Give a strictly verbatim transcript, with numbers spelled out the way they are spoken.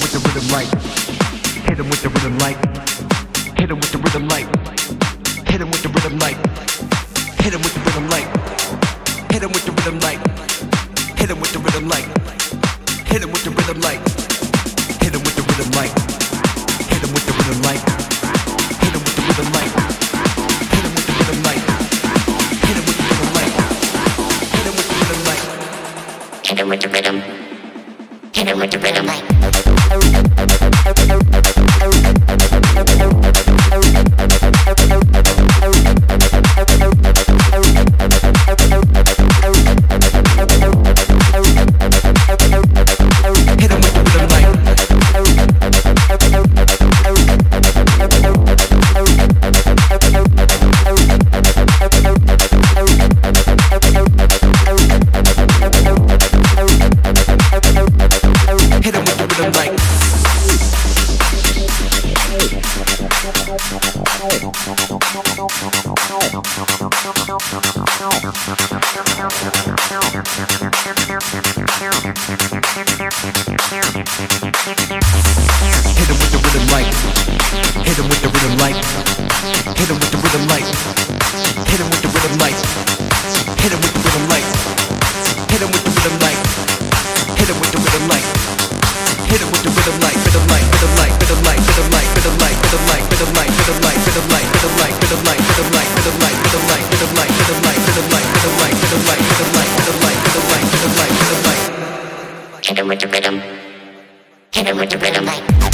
with the rhythm light. Hit him with the rhythm light. Hit him with the rhythm light. Hit him with the rhythm light. Hit him with the rhythm light. Hit him with the rhythm light. Hit him with the rhythm light. Hit him with the rhythm light. Hit him with the rhythm light. Hit him with the rhythm light. Hit him with the rhythm light. Hit him with the rhythm light. Hit him with the rhythm light. Hit him with the rhythm light. Hit him with the rhythm. Hit him with the rhythm light. Hit him with the rhythm. Hit him with the rhythm light.